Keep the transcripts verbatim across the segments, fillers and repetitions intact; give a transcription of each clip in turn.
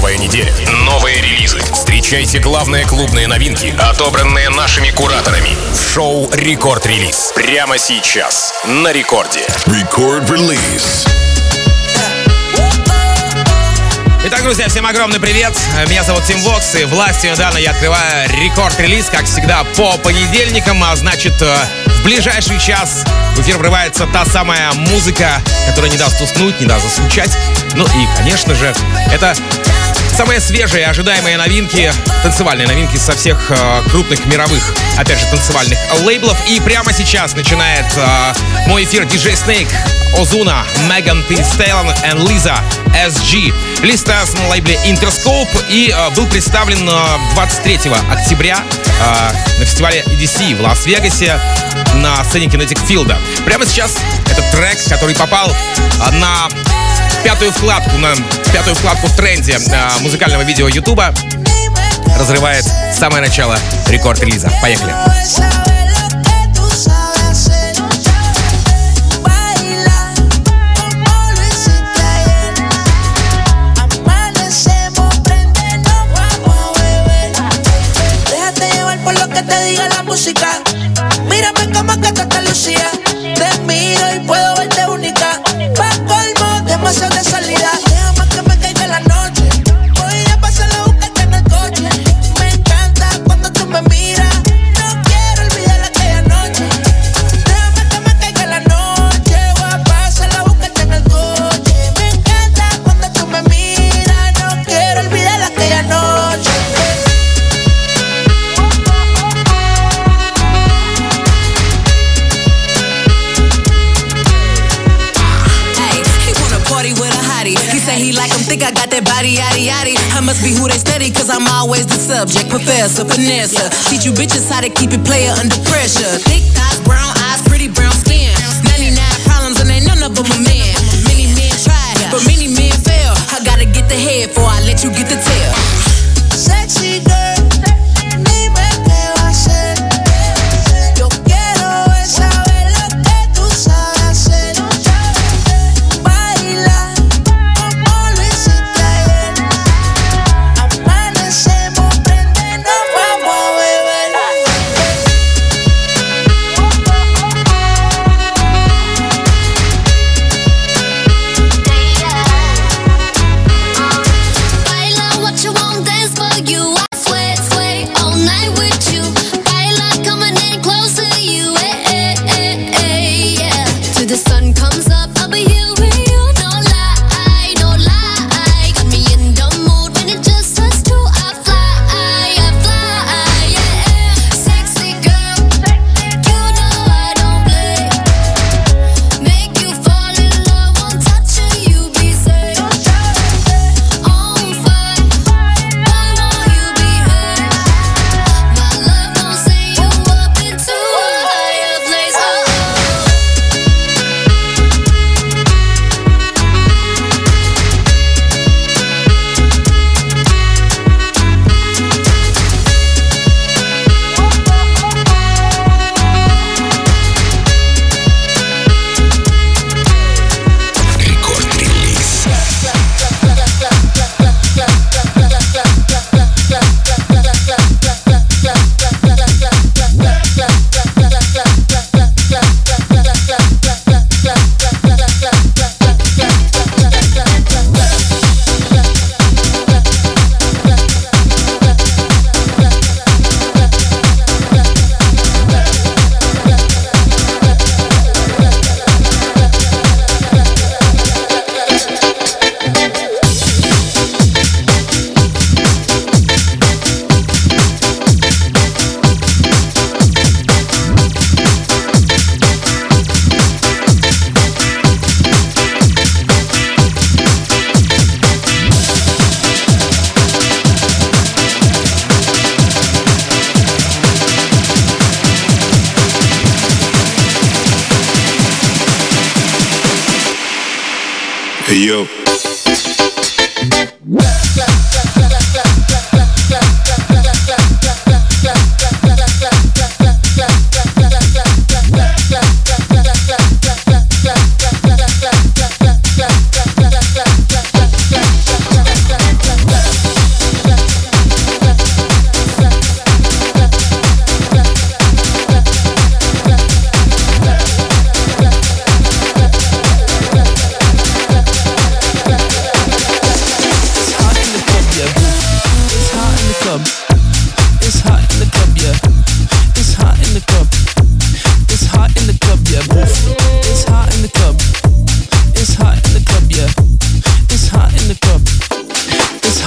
Новая неделя, новые релизы. Встречайте главные клубные новинки, отобранные нашими кураторами. В шоу «Рекорд-релиз». Прямо сейчас на Рекорде. Рекорд-релиз. Итак, друзья, всем огромный привет. Меня зовут Тим Вокс, и властью недавно я открываю рекорд-релиз, как всегда, по понедельникам. А значит, в ближайший час в эфир врывается та самая музыка, которая не даст уснуть, не даст заскучать. Ну и, конечно же, это самые свежие, ожидаемые новинки, танцевальные новинки со всех э, крупных мировых, опять же, танцевальных лейблов. И прямо сейчас начинает э, мой эфир диджей Snake, Ozuna, Megan Thee Stallion и Lisa эс джи. Лист на лейбле Interscope и э, был представлен э, двадцать третьего октября э, на фестивале и ди си в Лас-Вегасе на сцене Kinetic Field. Прямо сейчас этот трек, который попал э, на пятую вкладку, на пятую вкладку в тренде э, музыкального видео Ютуба, разрывает самое начало рекорд-релиза. Поехали! Mírame como que tú te lucías. Te miro y puedo verte única. Pa' colmo, demasiado de salida. Déjame que me caiga la noche. Voy a pasar a buscarte en el coche. Me encanta cuando tú me miras. No quiero olvidar aquella noche. Déjame que me caiga la noche. Voy a pasar a buscarte en el coche. Me encanta cuando tú me miras. No quiero olvidar aquella noche. He say he like him, think I got that body, yaddy, yaddy. I must be who they study, cause I'm always the subject. Professor, finesse, teach you bitches how to keep it player under pressure. Thick thighs, brown eyes, pretty brown skin. ninety-nine problems and ain't none of them a man. Many men tried, but many men fail. I gotta get the head before I let you get the tail. Sexy girl, dime qué va a hacer. Yo quiero es saber lo que tú sabes hacer. Baila como lo hiciste ayer. Amanecemos, prende, nos vamos a beber. Baila what you want, dance for you. I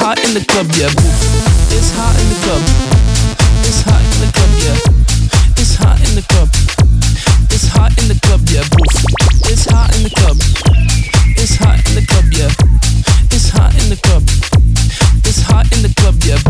hot in the club, yeah. It's hot in the club. It's hot in the club, yeah. It's hot in the club. It's hot in the club, yeah. It's hot in the club. It's hot in the club, yeah. It's hot in the club. It's hot in the club, yeah.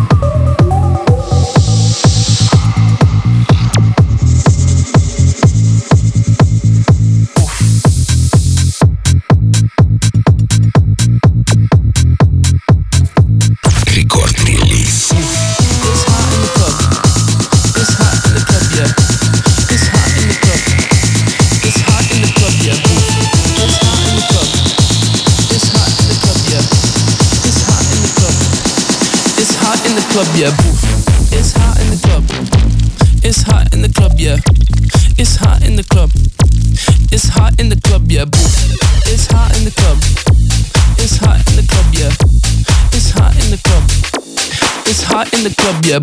Club, yeah. It's hot in the club. It's hot in the club, yeah. It's hot in the club. It's hot in the club, yeah. It's hot in the club. It's hot in the club, yeah. It's hot in the club. It's hot in the club, yeah.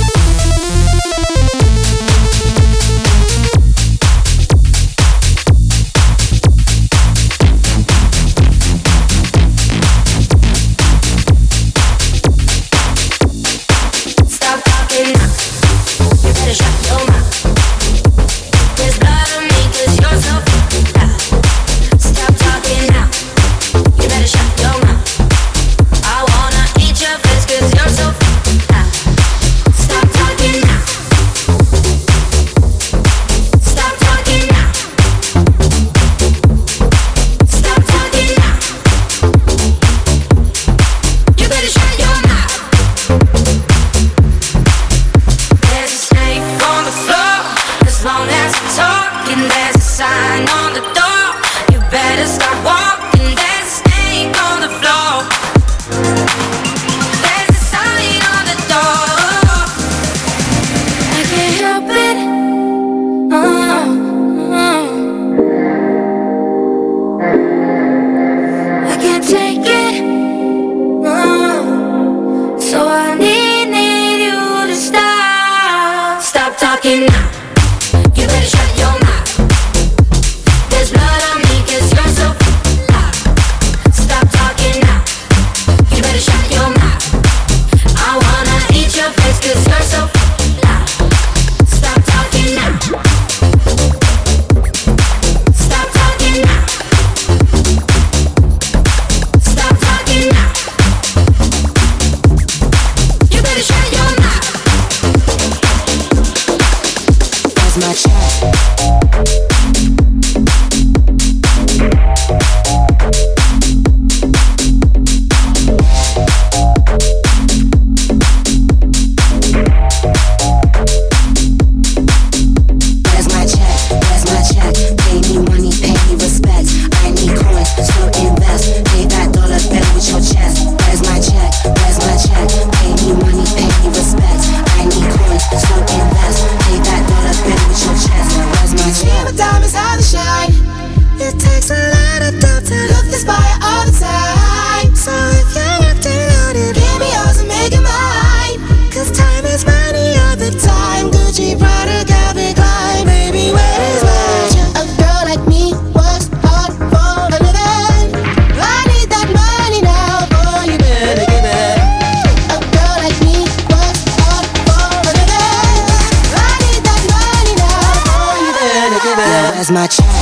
Where's my check?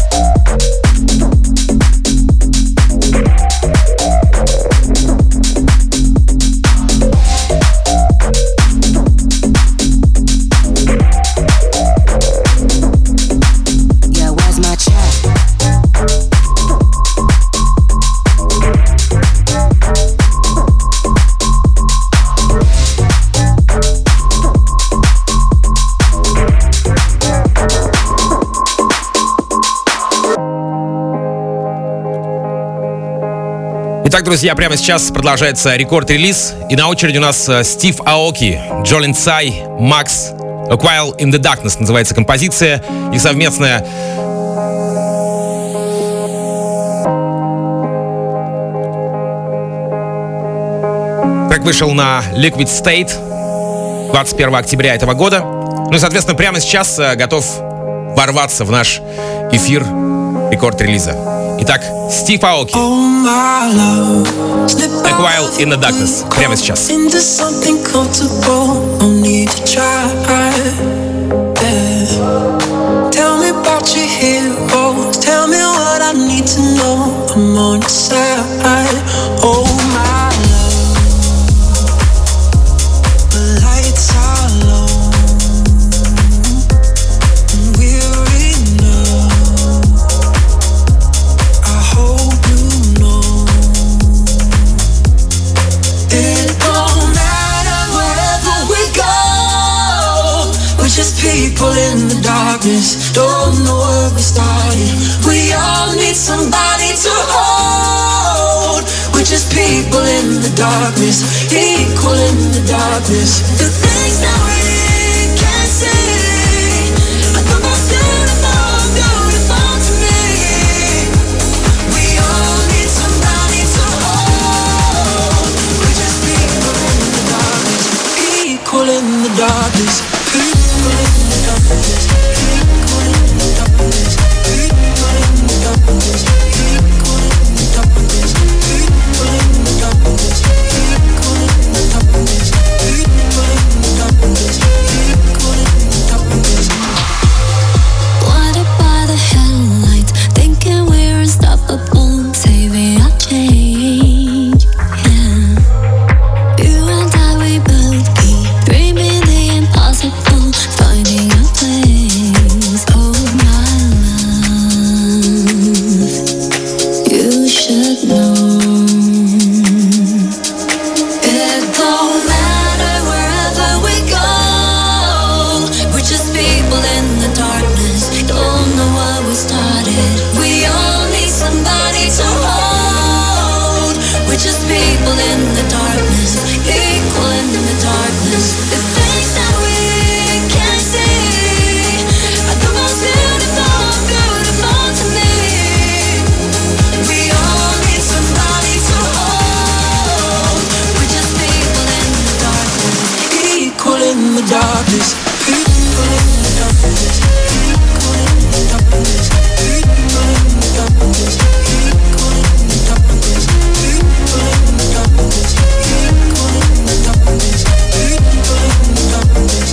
Итак, друзья, прямо сейчас продолжается рекорд-релиз. И на очереди у нас Стив Аоки, Джолин Цай, Макс, A While in the Darkness называется композиция. Их совместная. Трек вышел на Liquid State двадцать первого октября этого года. Ну и, соответственно, прямо сейчас готов ворваться в наш эфир рекорд-релиза. Итак, Стив Аоки, A While Smile in the Darkness. Прямо сейчас. Into something comfortable, no need to try. Yeah. Tell me about your heroes. Tell me what I need to know. I'm on your side. Oh my love, the lights are low. We're enough. I hope you know. It don't matter wherever we go. We're just people in the darkness. Don't know where we started. We all need somebody to hold. We're just people in the darkness, equal in the darkness. The things that we can't see are the most beautiful, beautiful to me. We all need somebody to hold. We're just people in the darkness, equal in the darkness, equal in the darkness, equal in the darkness, equal in the darkness, equal in the darkness, equal in the darkness, equal in the darkness, equal in the darkness, equal in the darkness. Blinded by the headlights, thinking we're unstoppable, saving our change. Yeah. You and I, we both keep dreaming the impossible, finding a place. Oh my love, you should know. It don't matter wherever we go. We're just people in the darkness. Don't know what we started. We all need somebody to hold. We're just people in the darkness, equal in the darkness. The things that we can't see are the most beautiful, beautiful to me. We all need somebody to hold. We're just people in the darkness, Equal in the darkness, equal in the darkness, equal in the darkness, equal in the darkness, equal in the darkness, equal in the darkness, equal in the darkness, equal in the darkness.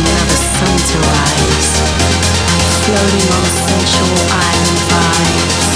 floating on sensual island vibes.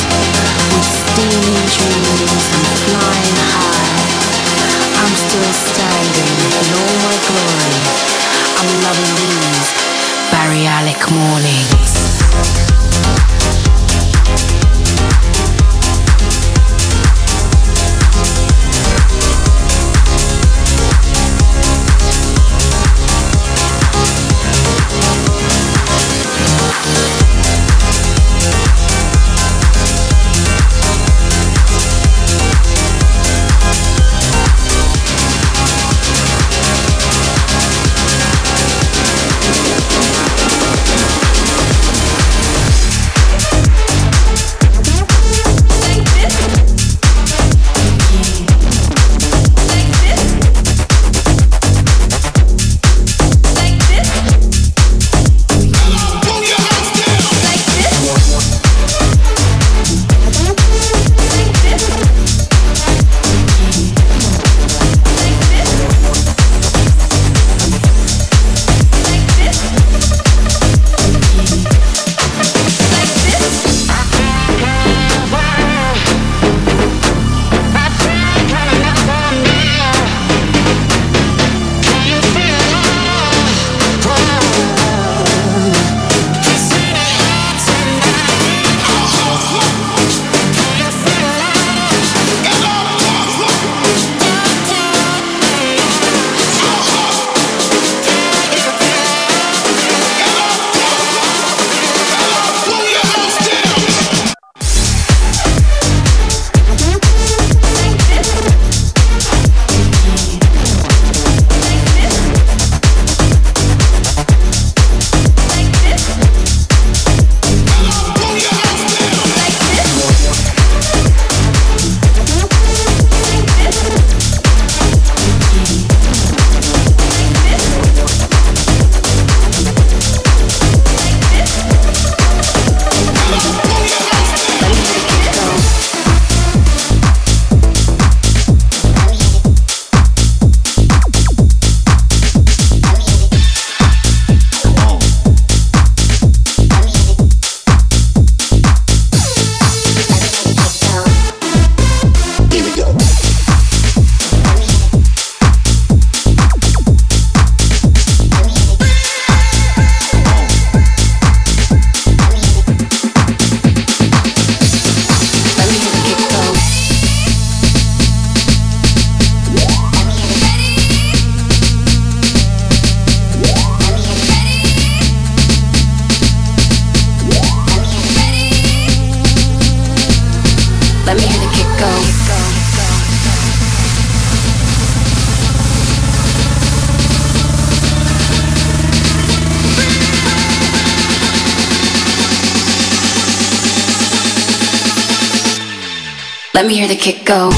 Let me hear the kick go. Let me hear the kick go.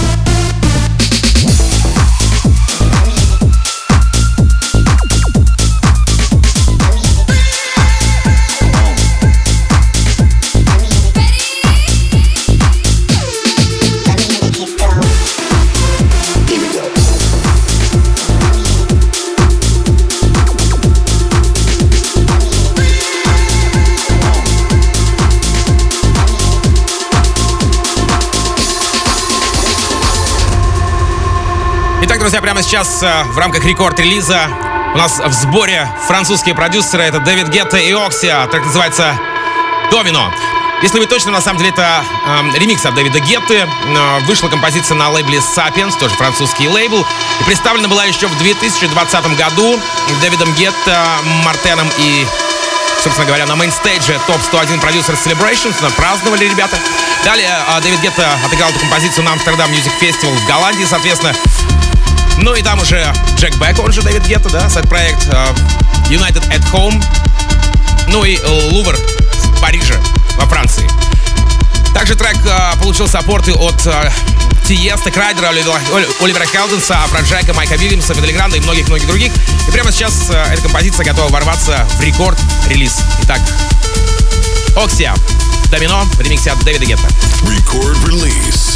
Итак, друзья, прямо сейчас э, в рамках рекорд-релиза у нас в сборе французские продюсеры. Это Дэвид Гетта и Оксия. Трек называется «Домино». Если быть точным, на самом деле это э, ремикс от Дэвида Гетты. Э, вышла композиция на лейбле Sapiens, тоже французский лейбл. И представлена была еще в две тысячи двадцатом году Дэвидом Гетта, Мартеном и, собственно говоря, на мейнстейдже топ сто один продюсер Celebrations. Праздновали ребята. Далее э, Дэвид Гетта отыграл эту композицию на Амстердам Music Festival в Голландии, соответственно. Ну и там уже Джек Бек, он же Дэвид Гетта, да, сайт-проект uh, United at Home. Ну и Лувр в Париже, во Франции. Также трек uh, получил саппорты от uh, Тиеста, Крайдера, Оливера Хелденса, Афроджека, Майка Вильямса, Фидели Гранда и многих-многих других. И прямо сейчас uh, эта композиция готова ворваться в рекорд-релиз. Итак, Оксия, «Домино» в ремиксе от Дэвида Гетта. Record release.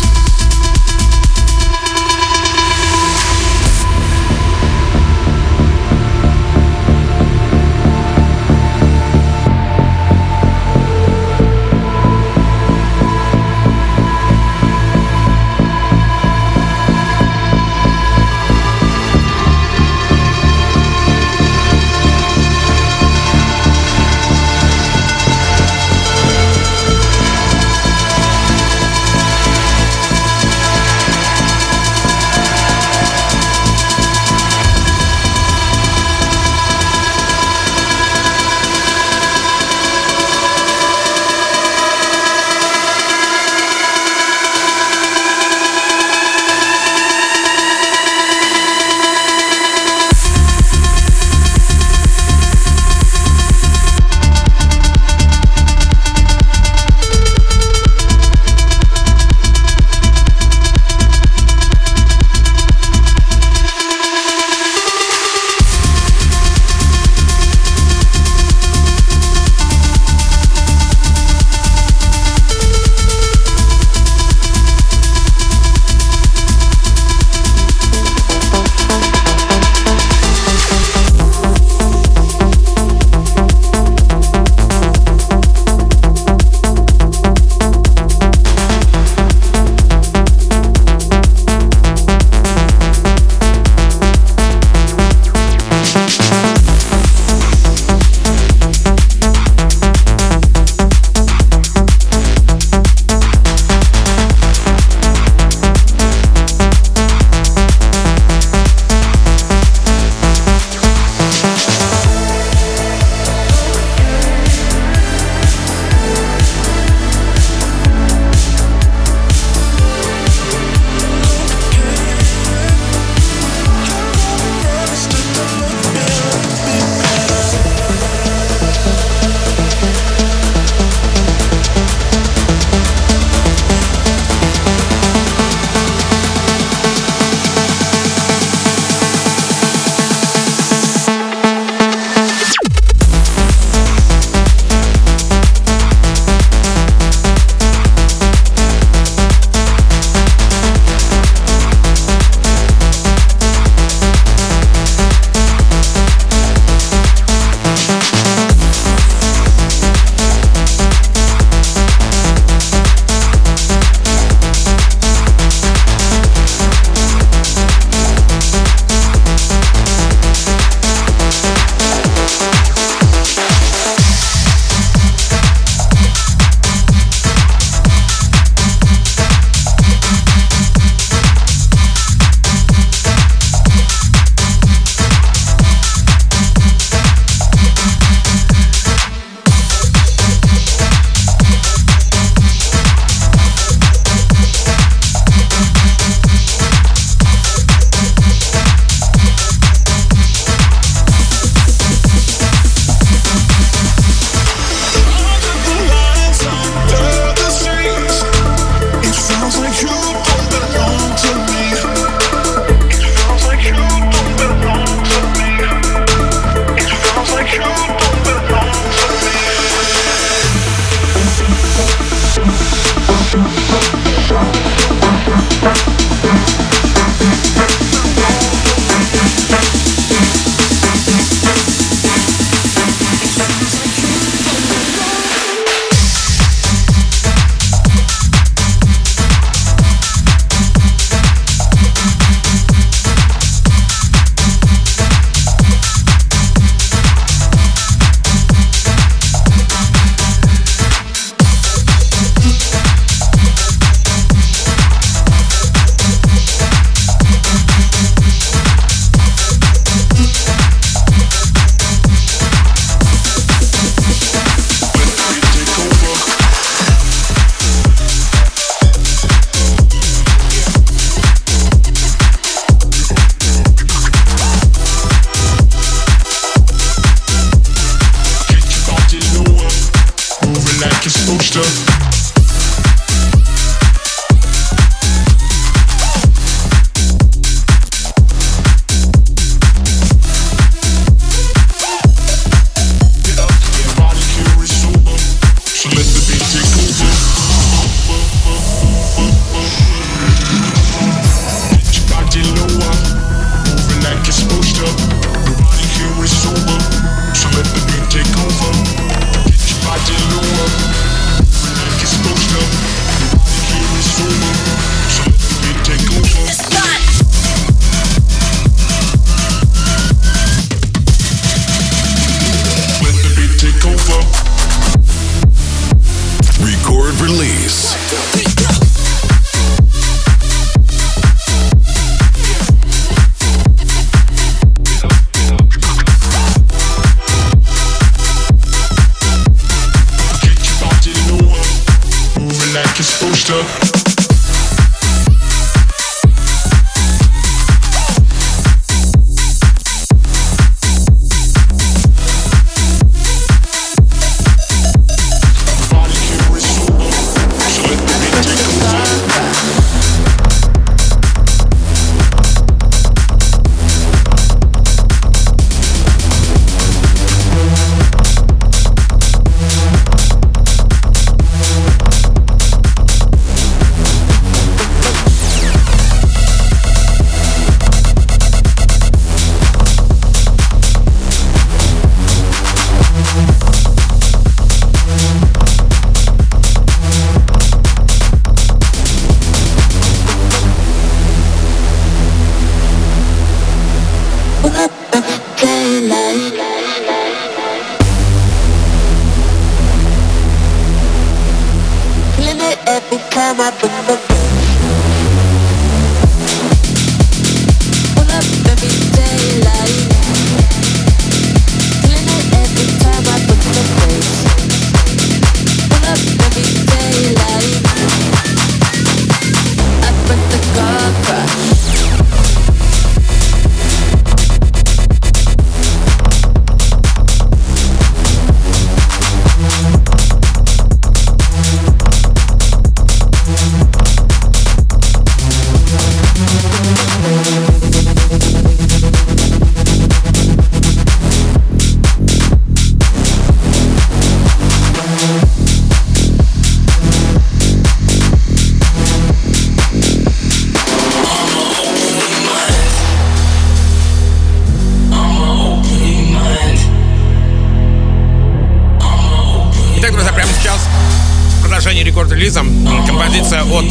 рекорд-релизом. Композиция от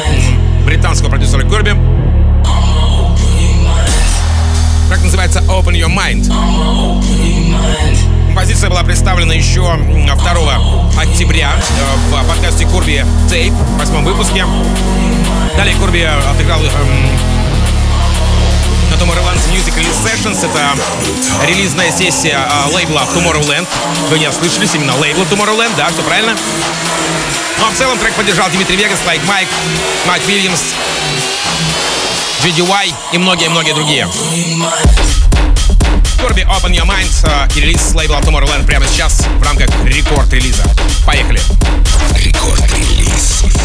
э, британского продюсера Kirby. Как называется Open Your Mind. Композиция была представлена еще второго октября в подкасте Kirby Tape, в восьмом выпуске. Далее Kirby отыграл э, на Tomorrowland Music Release Sessions. Это релизная сессия э, лейбла Tomorrowland. Вы не ослышались, именно лейбла Tomorrowland, да, все правильно. Ну а в целом трек поддержал Дмитрий Вегас, Лайк Майк, Майк Вильямс, джи ди уай и многие-многие другие. Kirby Open Your Mind э, и релиз с лейбла Tomorrowland прямо сейчас в рамках рекорд-релиза. Поехали! Рекорд-релиз.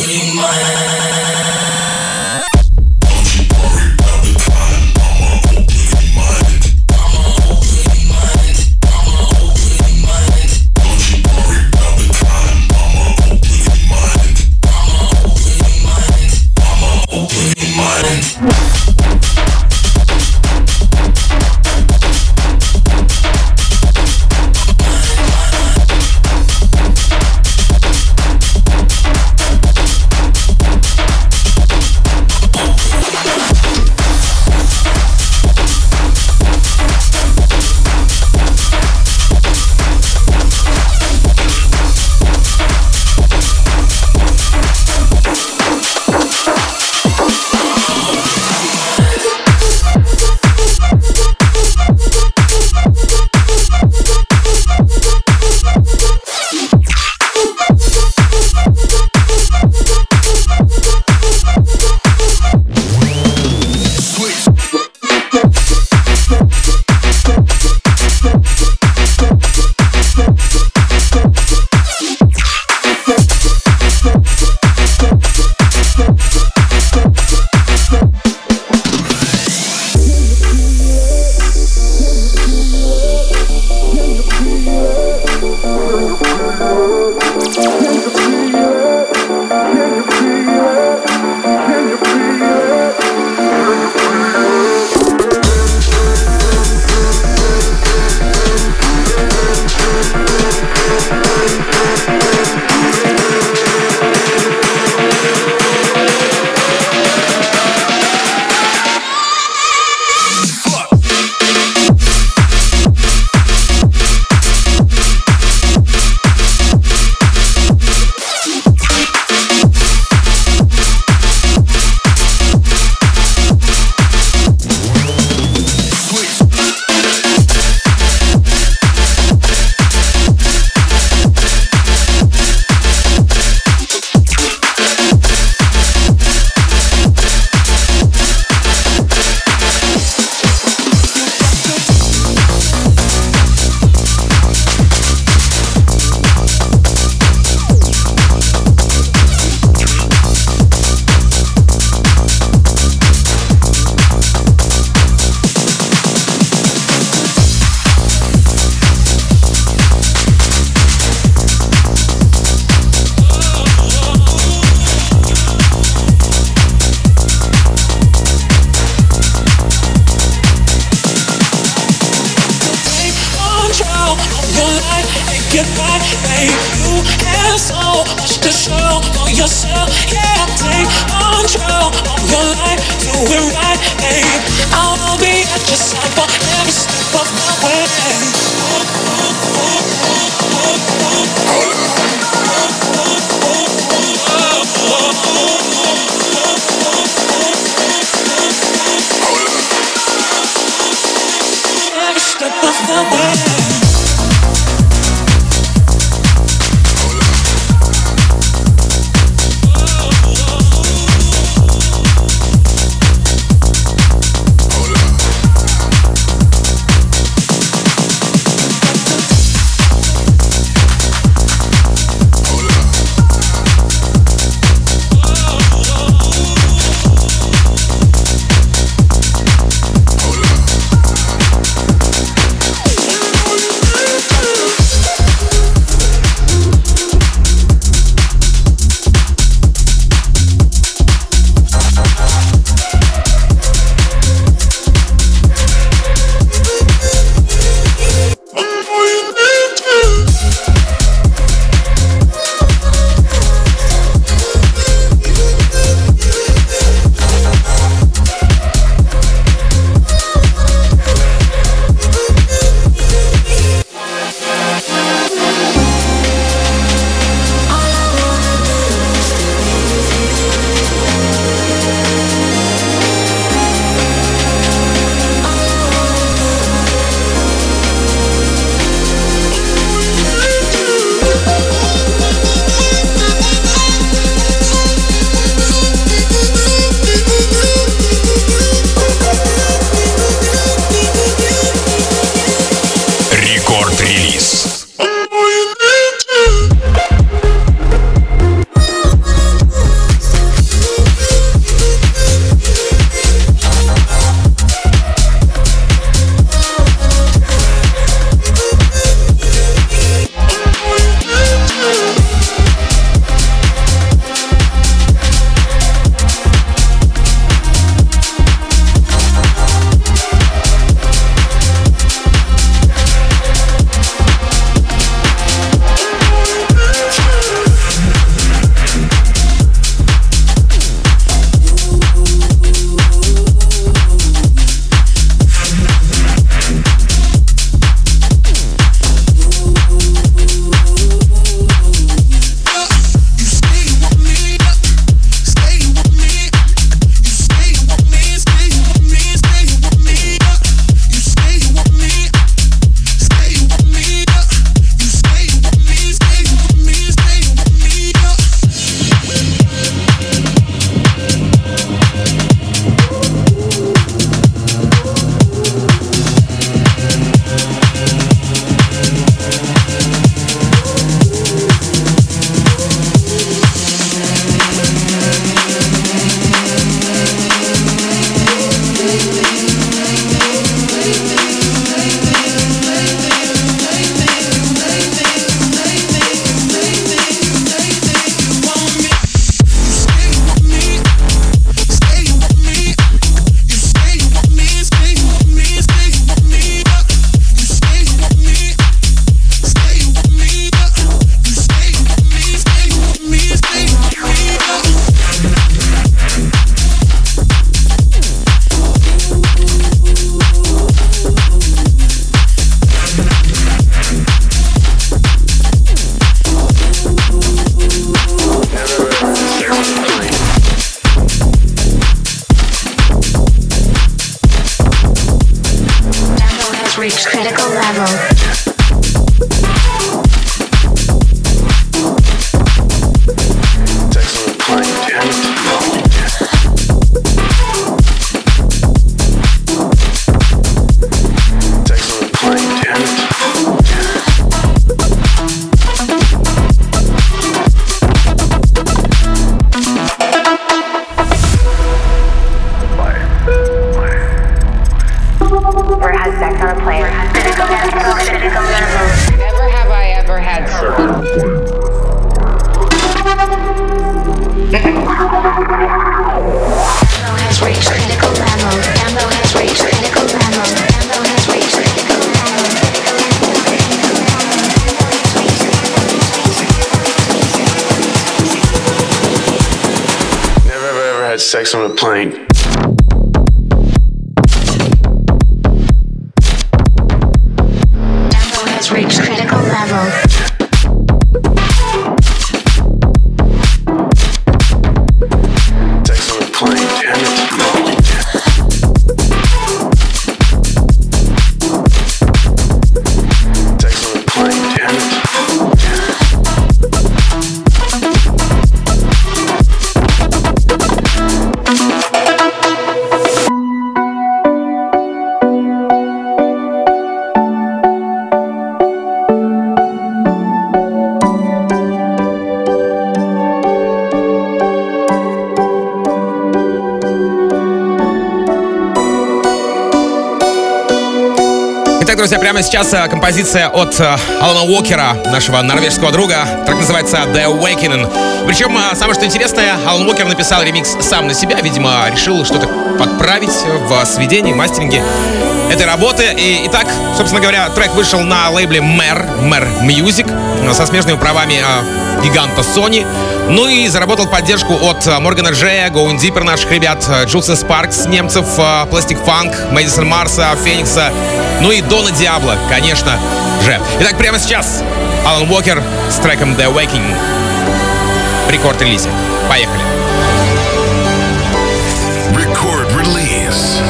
Рекорд-релиз. Sex on a plane. Tempo has reached critical level. Sex on a plane, damn it. Sex on a plane, damn it. Друзья, прямо сейчас композиция от Алана Уокера, нашего норвежского друга. Трек называется The Awakening. Причем, самое что интересное, Алан Уокер написал ремикс сам на себя. Видимо, решил что-то подправить в сведении, мастеринге этой работы. И, итак, собственно говоря, трек вышел на лейбле Mer, Mer Music со смежными правами гиганта Sony. Ну и заработал поддержку от Моргана Джея, Going Deeper наших ребят, Джулсен Спаркс, немцев, Plastic Funk, Мэдисон Марса, Феникса, ну и Дона Диабло, конечно же. Итак, прямо сейчас Алан Уокер с треком The Awakening в рекорд-релизе. Поехали. Record release.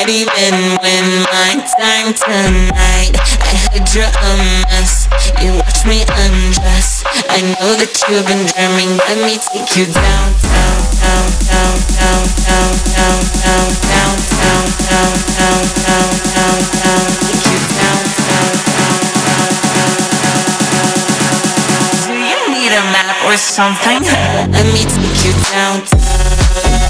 not even when my time tonight. I heard you're a mess, you watch me undress. I know that you've been dreaming, let me take you down, down, down, down, down, down, down, down, down, down, down, down, down, down, down, take you down, down, down, down, down. Do you need a map or something? Let me take you down, down.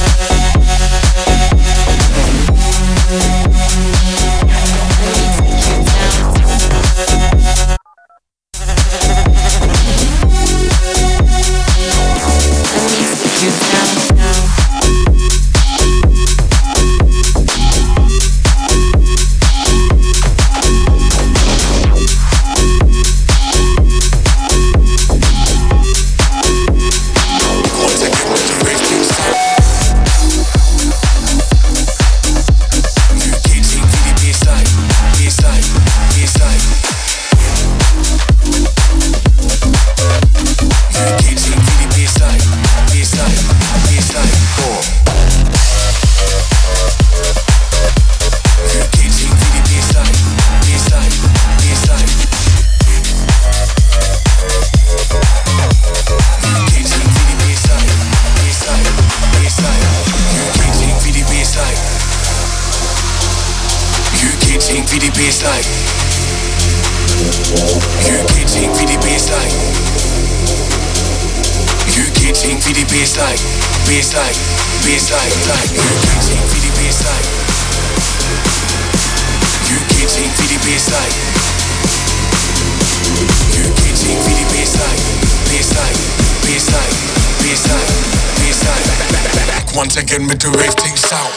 Once again with the rave thing sound.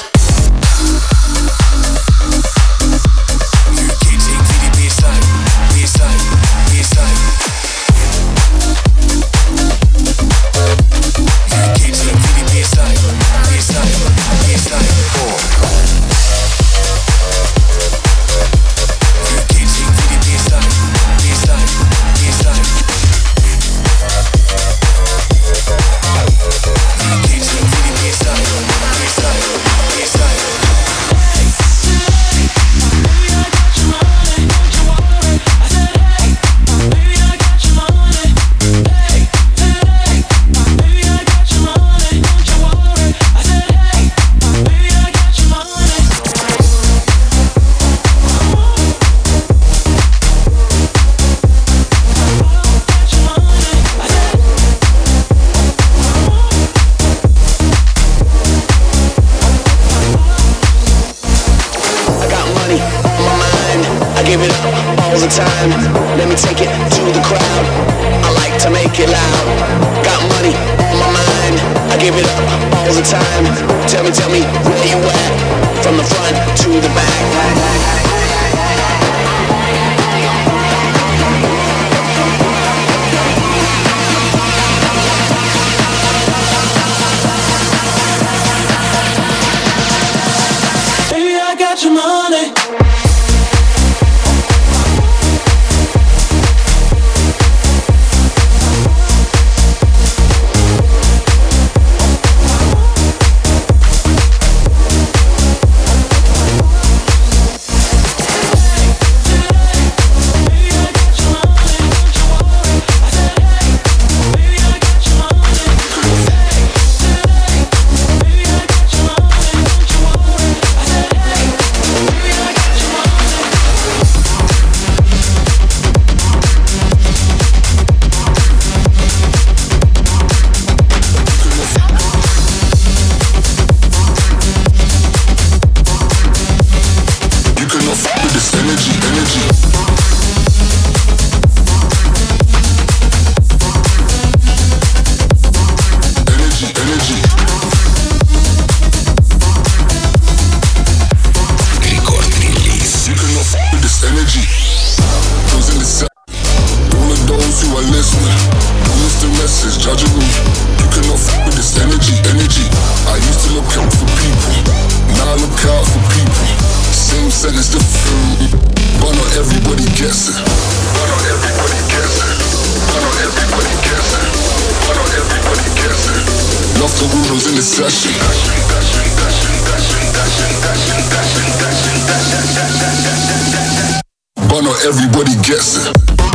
Love the rules in the session. But not everybody gets it.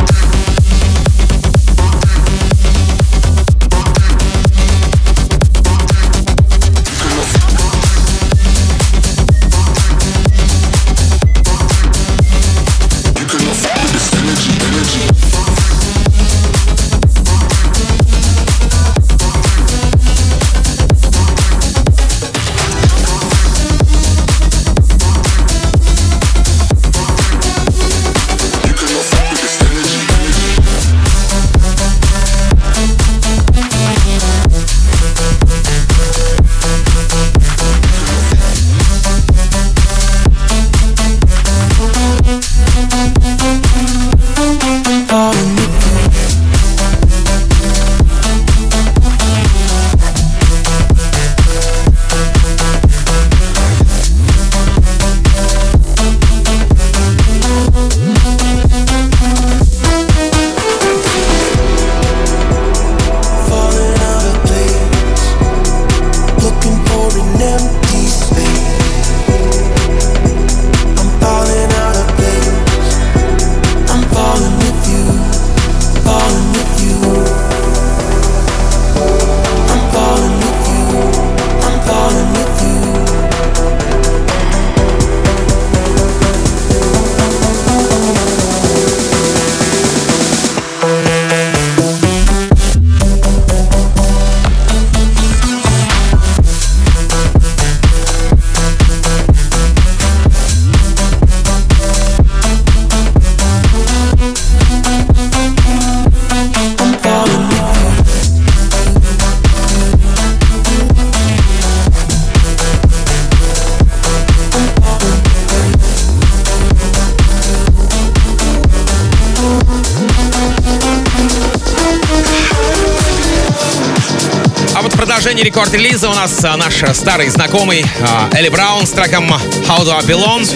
продолжение рекорд-релиза у нас наш старый знакомый Элли Браун с треком How Do I Belong.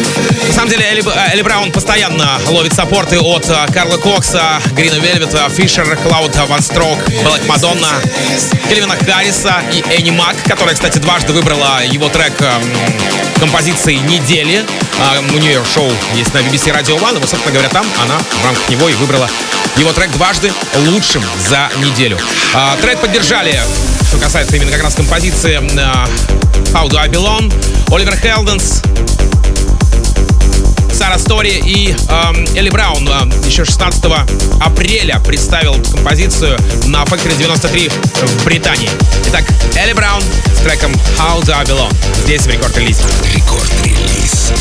На самом деле Элли, Элли Браун постоянно ловит саппорты от Карла Кокса, Грина Вельвета, Фишер, Клауда, Ван Строк, Блэк Мадонна, Кельвина Харриса и Энни Мак, которая, кстати, дважды выбрала его трек композиции недели. У нее шоу есть на би би си Radio One, и, вот, собственно говоря, там она в рамках него и выбрала его трек дважды лучшим за неделю. Трек поддержали, что касается именно как раз композиции How Do I Belong, Оливер Хелденс, Сара Стори и эм, Элли Браун еще шестнадцатого апреля представил эту композицию на Factory девяносто три в Британии. Итак, Элли Браун с треком How Do I Belong здесь в рекорд-релизе. Рекорд-релиз.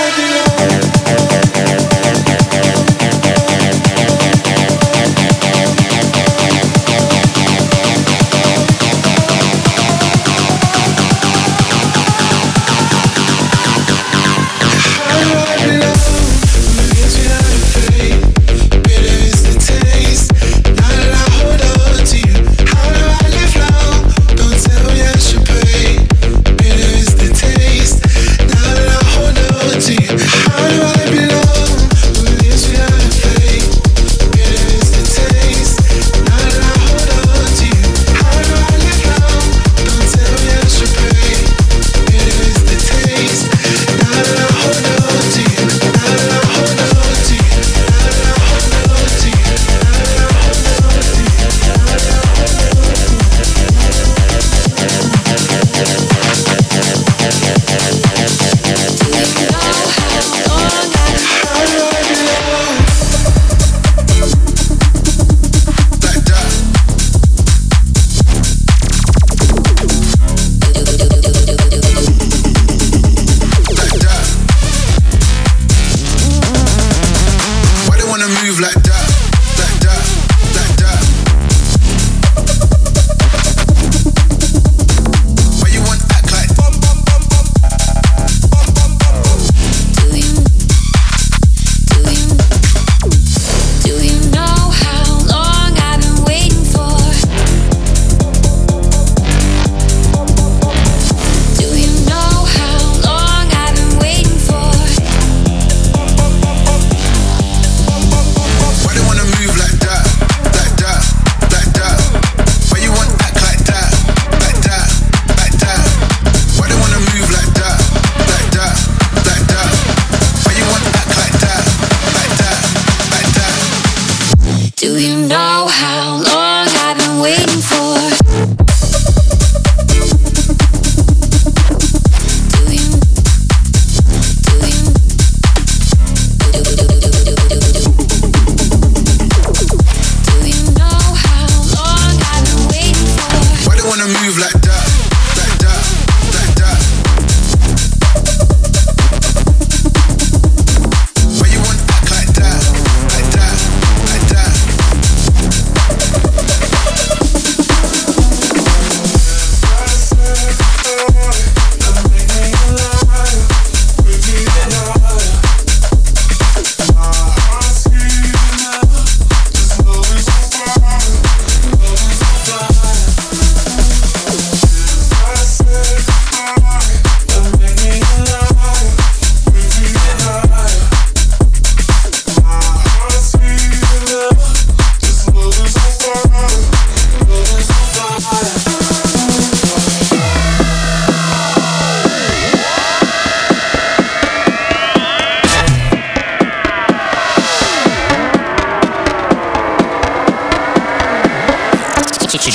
How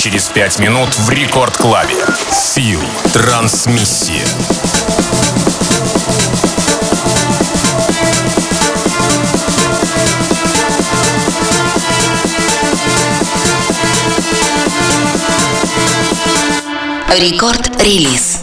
через пять минут в Рекорд Клабе. Фил. Трансмиссия. Рекорд-релиз.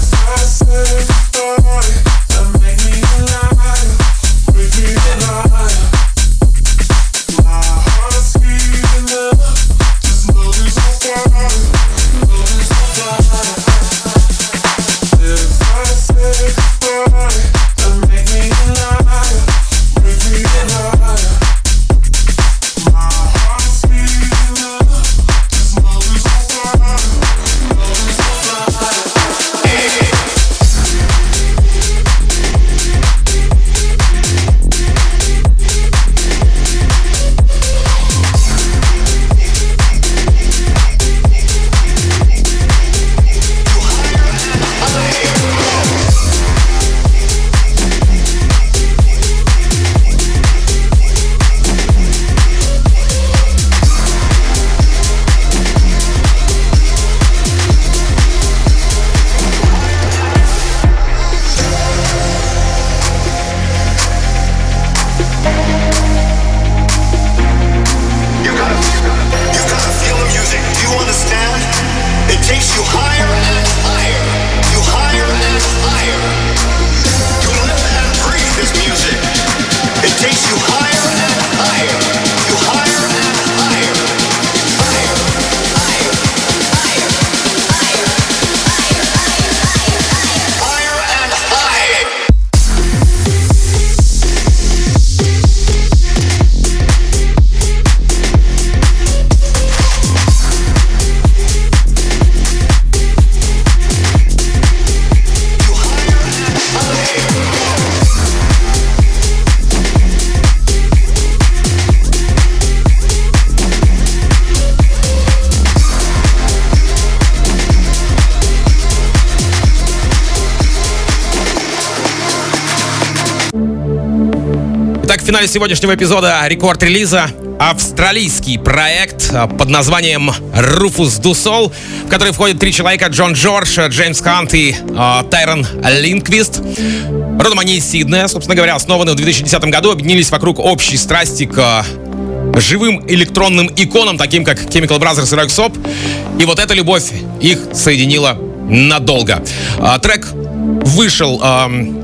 В финале сегодняшнего эпизода рекорд-релиза австралийский проект под названием Rufus Du Sol, в который входят три человека: Джон Джордж, Джеймс Хант и э, Тайрон Линквист. Родом они из Сиднея, собственно говоря, основаны в две тысячи десятом году, объединились вокруг общей страсти к э, живым электронным иконам, таким как Chemical Brothers и Röyksopp. И вот эта любовь их соединила надолго. Э, трек вышел... Э,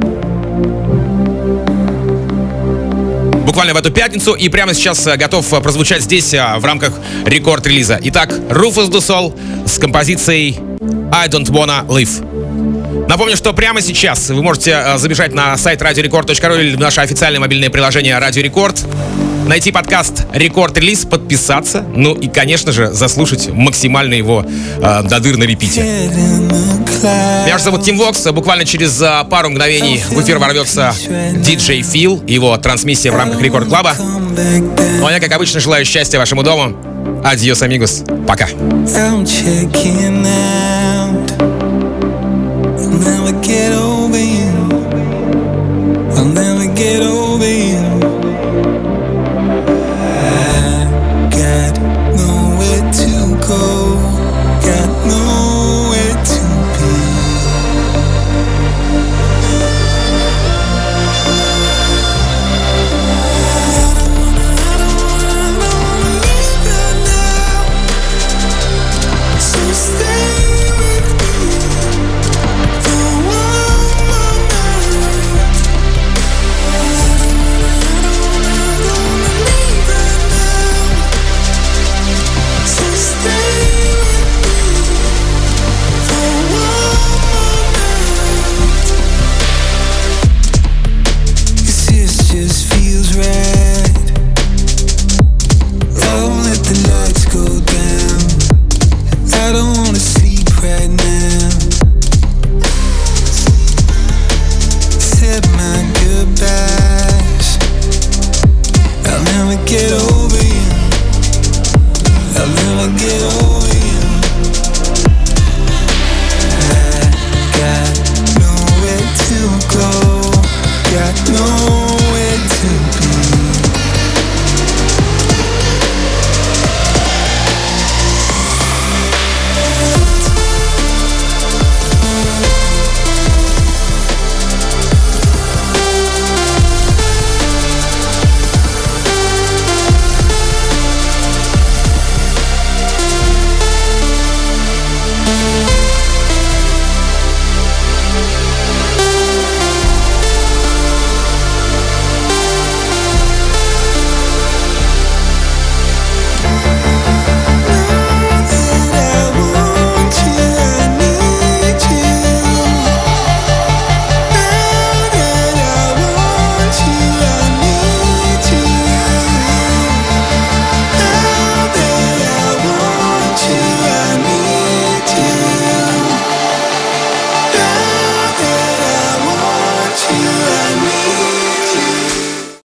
буквально в эту пятницу и прямо сейчас готов прозвучать здесь в рамках рекорд-релиза. Итак, Rufus Du Sol с композицией I Don't Wanna Live. Напомню, что прямо сейчас вы можете забежать на сайт радио рекорд точка ру или в наше официальное мобильное приложение Радио Рекорд, найти подкаст Рекорд-релиз, подписаться, ну и, конечно же, заслушать максимально его э, до дыр на репите. Меня же зовут Тим Вокс. Буквально через а, пару мгновений в эфир ворвется диджей Фил, его трансмиссия в рамках Рекорд Клаба. Ну а я, как обычно, желаю счастья вашему дому. Адьос, амигос. Пока. I'm checking out. I'll never get away.